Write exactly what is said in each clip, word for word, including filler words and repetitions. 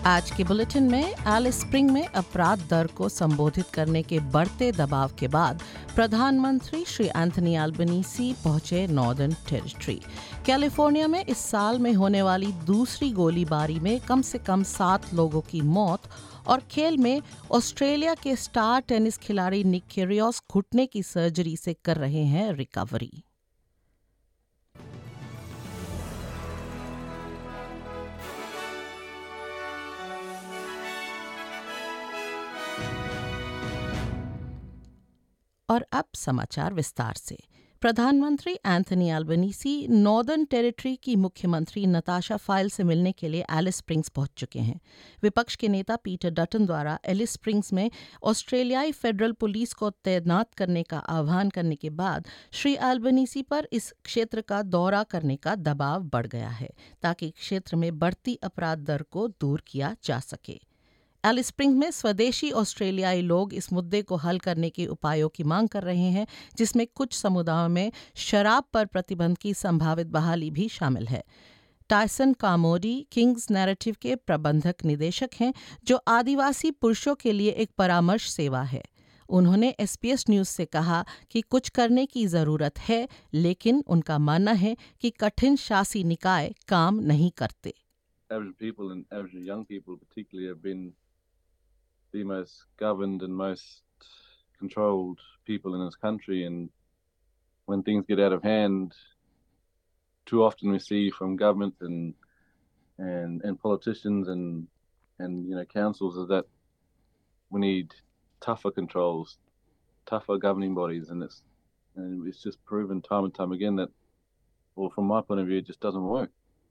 आज के बुलेटिन में एलिस स्प्रिंग में अपराध दर को संबोधित करने के बढ़ते दबाव के बाद प्रधानमंत्री श्री एंथनी अल्बनीसी पहुंचे नॉर्दर्न टेरिटरी। कैलिफोर्निया में इस साल में होने वाली दूसरी गोलीबारी में कम से कम सात लोगों की मौत और खेल में ऑस्ट्रेलिया के स्टार टेनिस खिलाड़ी निक किर्गियोस घुटने की सर्जरी से कर रहे हैं रिकवरी। और अब समाचार विस्तार से। प्रधानमंत्री एंथनी अल्बनीसी नॉर्दर्न टेरिटरी की मुख्यमंत्री नताशा फाइल से मिलने के लिए एलिस स्प्रिंग्स पहुंच चुके हैं। विपक्ष के नेता पीटर डटन द्वारा एलिस स्प्रिंग्स में ऑस्ट्रेलियाई फेडरल पुलिस को तैनात करने का आह्वान करने के बाद श्री अल्बनीसी पर इस क्षेत्र का दौरा करने का दबाव बढ़ गया है ताकि क्षेत्र में बढ़ती अपराध दर को दूर किया जा सके। एलिस स्प्रिंग्स में स्वदेशी ऑस्ट्रेलियाई लोग इस मुद्दे को हल करने के उपायों की मांग कर रहे हैं, जिसमें कुछ समुदायों में शराब पर प्रतिबंध की संभावित बहाली भी शामिल है। टायसन कामोडी किंग्स नैरेटिव के प्रबंधक निदेशक हैं, जो आदिवासी पुरुषों के लिए एक परामर्श सेवा है। उन्होंने एसपीएस न्यूज से कहा कि कुछ करने की जरूरत है, लेकिन उनका मानना है कि कठिन शासी निकाय काम नहीं करते। the most governed and most controlled people in this country, and when things get out of hand, too often we see from government and and and politicians and and you know councils is that we need tougher controls, tougher governing bodies, and it's and it's just proven time and time again that, well, from my point of view, it just doesn't work.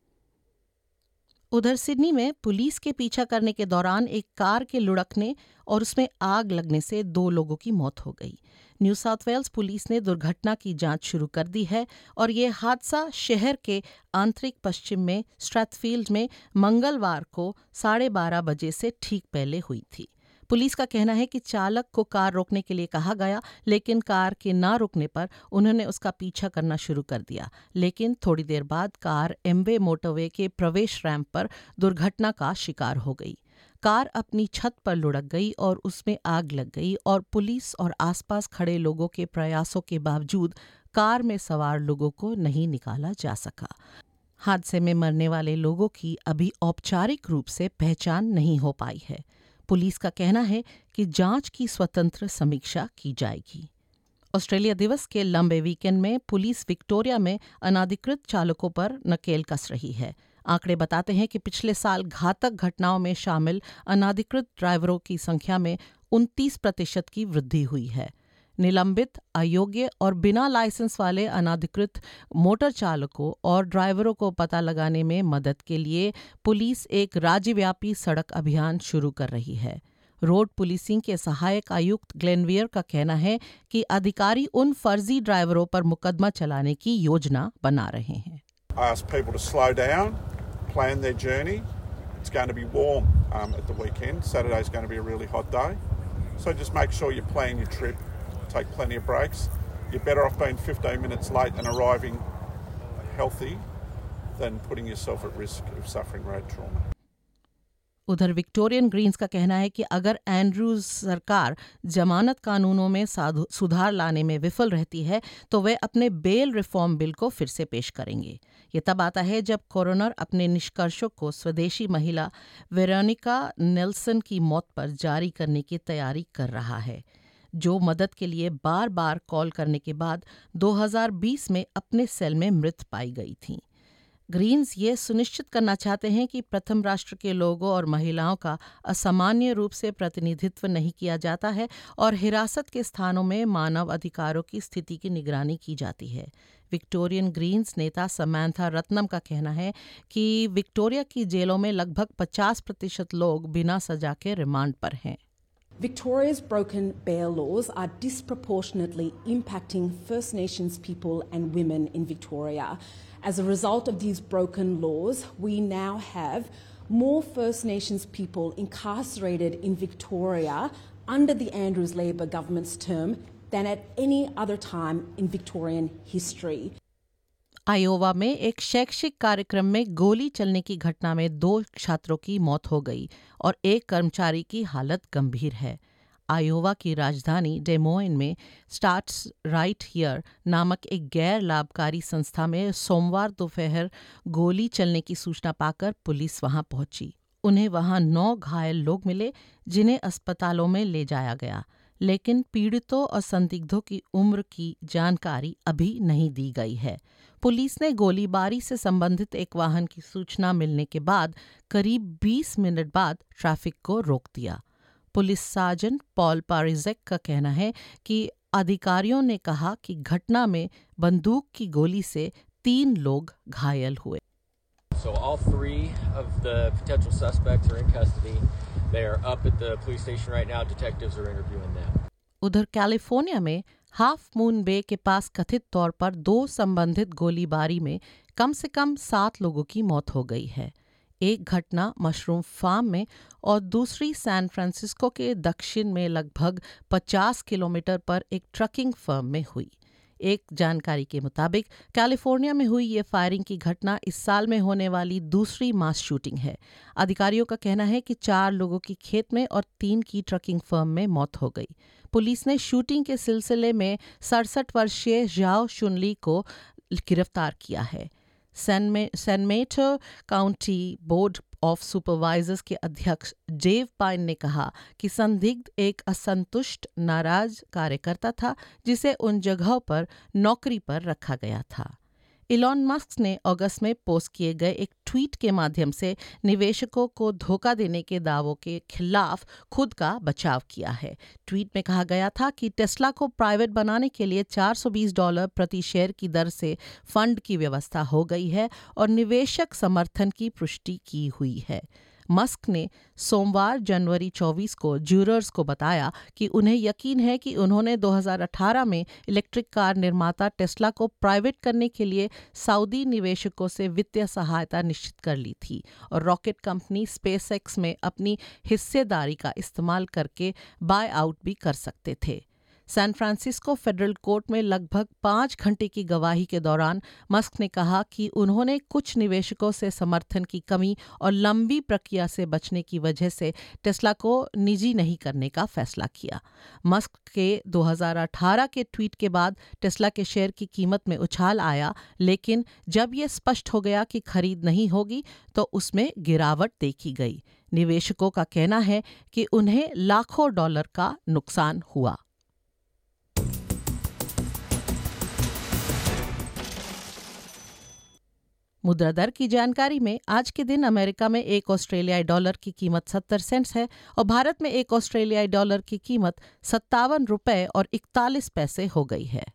उधर Sydney में police के पीछा करने के दौरान एक car के लुढ़कने और उसमें आग लगने से दो लोगों की मौत हो गई। न्यू साउथ वेल्स पुलिस ने दुर्घटना की जांच शुरू कर दी है और ये हादसा शहर के आंतरिक पश्चिम में स्ट्रैथफील्ड में मंगलवार को साढ़े बारह बजे से ठीक पहले हुई थी। पुलिस का कहना है कि चालक को कार रोकने के लिए कहा गया, लेकिन कार के ना रुकने पर उन्होंने उसका पीछा करना शुरू कर दिया। लेकिन थोड़ी देर बाद कार एम्बे मोटरवे के प्रवेश रैंप पर दुर्घटना का शिकार हो गई। कार अपनी छत पर लुढ़क गई और उसमें आग लग गई और पुलिस और आसपास खड़े लोगों के प्रयासों के बावजूद कार में सवार लोगों को नहीं निकाला जा सका। हादसे में मरने वाले लोगों की अभी औपचारिक रूप से पहचान नहीं हो पाई है। पुलिस का कहना है कि जांच की स्वतंत्र समीक्षा की जाएगी। ऑस्ट्रेलिया दिवस के लंबे वीकेंड में पुलिस विक्टोरिया में अनाधिकृत चालकों पर नकेल कस रही है। आंकड़े बताते हैं कि पिछले साल घातक घटनाओं में शामिल अनाधिकृत ड्राइवरों की संख्या में उनतीस प्रतिशत की वृद्धि हुई है। निलंबित, अयोग्य और बिना लाइसेंस वाले अनाधिकृत मोटर चालकों और ड्राइवरों को पता लगाने में मदद के लिए पुलिस एक राज्यव्यापी सड़क अभियान शुरू कर रही है। रोड पुलिसिंग के सहायक आयुक्त ग्लेनवियर का कहना है कि अधिकारी उन फर्जी ड्राइवरों पर मुकदमा चलाने की योजना बना रहे हैं। I ask people to slow down, plan their journey. It's going to be warm um, at the weekend. Saturday's going to be a really hot day. So just make sure you plan your trip. Take plenty of breaks. You're better off being fifteen minutes late and arriving healthy than putting yourself at risk of suffering road trauma. उधर Victorian Green's का कहना है कि अगर Andrews सरकार जमानत कानूनों में सुधार लाने में विफल रहती है तो वे अपने बेल रिफॉर्म बिल को फिर से पेश करेंगे। ये तब आता है जब कोरोनर अपने निष्कर्षों को स्वदेशी महिला वेरोनिका नेल्सन की मौत पर जारी करने की तैयारी कर रहा है, जो मदद के लिए बार बार कॉल करने के बाद दो हज़ार बीस में अपने सेल में मृत पाई गई थीं। ग्रीन्स ये सुनिश्चित करना चाहते हैं कि प्रथम राष्ट्र के लोगों और महिलाओं का असामान्य रूप से प्रतिनिधित्व नहीं किया जाता है और हिरासत के स्थानों में मानव अधिकारों की स्थिति की निगरानी की जाती है। विक्टोरियन ग्रीन्स नेता समांथा रत्नम का कहना है कि विक्टोरिया की जेलों में लगभग पचास प्रतिशत लोग बिना सजा के रिमांड पर हैं। Victoria's broken bail laws are disproportionately impacting First Nations people and women in Victoria. As a result of these broken laws, we now have more First Nations people incarcerated in Victoria under the Andrews Labor government's term than at any other time in Victorian history. Iowa में एक शैक्षिक कार्यक्रम में गोली चलने की घटना में दो छात्रों की मौत हो गई और एक कर्मचारी की हालत गंभीर है। आयोवा की राजधानी डेमोइन में स्टार्ट्स राइट हियर नामक एक गैर लाभकारी संस्था में सोमवार दोपहर गोली चलने की सूचना पाकर पुलिस वहां पहुंची। उन्हें वहां नौ घायल लोग मिले जिन्हें अस्पतालों में ले जाया गया, लेकिन पीड़ितों और संदिग्धों की उम्र की जानकारी अभी नहीं दी गई है। पुलिस ने गोलीबारी से संबंधित एक वाहन की सूचना मिलने के बाद करीब बीस मिनट बाद ट्रैफिक को रोक दिया। पुलिस सार्जेंट पॉल पारिजेक का कहना है कि अधिकारियों ने कहा कि घटना में बंदूक की गोली से तीन लोग घायल हुए। So all three of the potential suspects are in custody. They are up at the police station right now. Detectives are interviewing them. उधर कैलिफोर्निया में हाफ मून बे के पास कथित तौर पर दो संबंधित गोलीबारी में कम से कम सात लोगों की मौत हो गई है। एक घटना मशरूम फार्म में और दूसरी सैन फ्रांसिस्को के दक्षिण में लगभग पचास किलोमीटर पर एक ट्रकिंग फर्म में हुई। एक जानकारी के मुताबिक कैलिफोर्निया में हुई ये फायरिंग की घटना इस साल में होने वाली दूसरी मास शूटिंग है। अधिकारियों का कहना है कि चार लोगों की खेत में और तीन की ट्रकिंग फर्म में मौत हो गई। पुलिस ने शूटिंग के सिलसिले में सड़सठ वर्षीय जाओ शुनली को गिरफ्तार किया है। San मेटो county board of supervisors के अध्यक्ष डेव पाइन ने कहा कि संदिग्ध एक असंतुष्ट नाराज कार्यकर्ता था जिसे उन जगहों पर नौकरी पर रखा गया था। इलॉन मस्क ने अगस्त में पोस्ट किए गए एक ट्वीट के माध्यम से निवेशकों को धोखा देने के दावों के खिलाफ खुद का बचाव किया है। ट्वीट में कहा गया था कि टेस्ला को प्राइवेट बनाने के लिए चार सौ बीस डॉलर प्रति शेयर की दर से फंड की व्यवस्था हो गई है और निवेशक समर्थन की पुष्टि की हुई है। मस्क ने सोमवार जनवरी चौबीस को ज्यूरर्स को बताया कि उन्हें यकीन है कि उन्होंने दो हज़ार अठारह में इलेक्ट्रिक कार निर्माता टेस्ला को प्राइवेट करने के लिए सऊदी निवेशकों से वित्तीय सहायता निश्चित कर ली थी और रॉकेट कंपनी स्पेसएक्स में अपनी हिस्सेदारी का इस्तेमाल करके बाय आउट भी कर सकते थे। सैन फ्रांसिस्को फेडरल कोर्ट में लगभग पाँच घंटे की गवाही के दौरान मस्क ने कहा कि उन्होंने कुछ निवेशकों से समर्थन की कमी और लंबी प्रक्रिया से बचने की वजह से टेस्ला को निजी नहीं करने का फैसला किया। मस्क के दो हज़ार अठारह के ट्वीट के बाद टेस्ला के शेयर की कीमत में उछाल आया, लेकिन जब ये स्पष्ट हो गया कि खरीद नहीं होगी तो उसमें गिरावट देखी गई। निवेशकों का कहना है कि उन्हें लाखों डॉलर का नुकसान हुआ। मुद्रा दर की जानकारी में आज के दिन अमेरिका में एक ऑस्ट्रेलियाई डॉलर की कीमत सत्तर सेंट्स है और भारत में एक ऑस्ट्रेलियाई डॉलर की कीमत सत्तावन रुपये और इकतालीस पैसे हो गई है।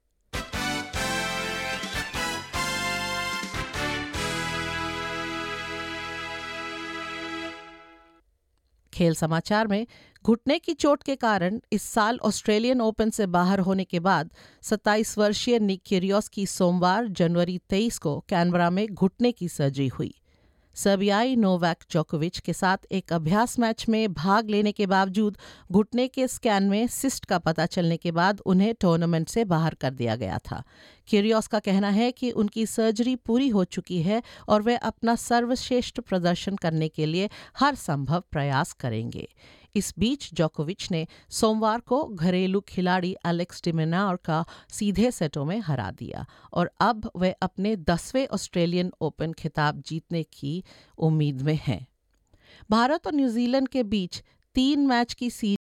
खेल समाचार में घुटने की चोट के कारण इस साल ऑस्ट्रेलियन ओपन से बाहर होने के बाद सत्ताईस वर्षीय निक किरियोस की सोमवार जनवरी तेईस को कैनबरा में घुटने की सर्जरी हुई। सर्बियाई नोवाक जोकोविच के साथ एक अभ्यास मैच में भाग लेने के बावजूद घुटने के स्कैन में सिस्ट का पता चलने के बाद उन्हें टूर्नामेंट से बाहर कर दिया गया था। किरियोस का कहना है कि उनकी सर्जरी पूरी हो चुकी है और वे अपना सर्वश्रेष्ठ प्रदर्शन करने के लिए हर संभव प्रयास करेंगे। इस बीच जोकोविच ने सोमवार को घरेलू खिलाड़ी एलेक्स डी मिनार का सीधे सेटों में हरा दिया और अब वे अपने दसवें ऑस्ट्रेलियन ओपन खिताब जीतने की उम्मीद में हैं। भारत और न्यूजीलैंड के बीच तीन मैच की सीरीज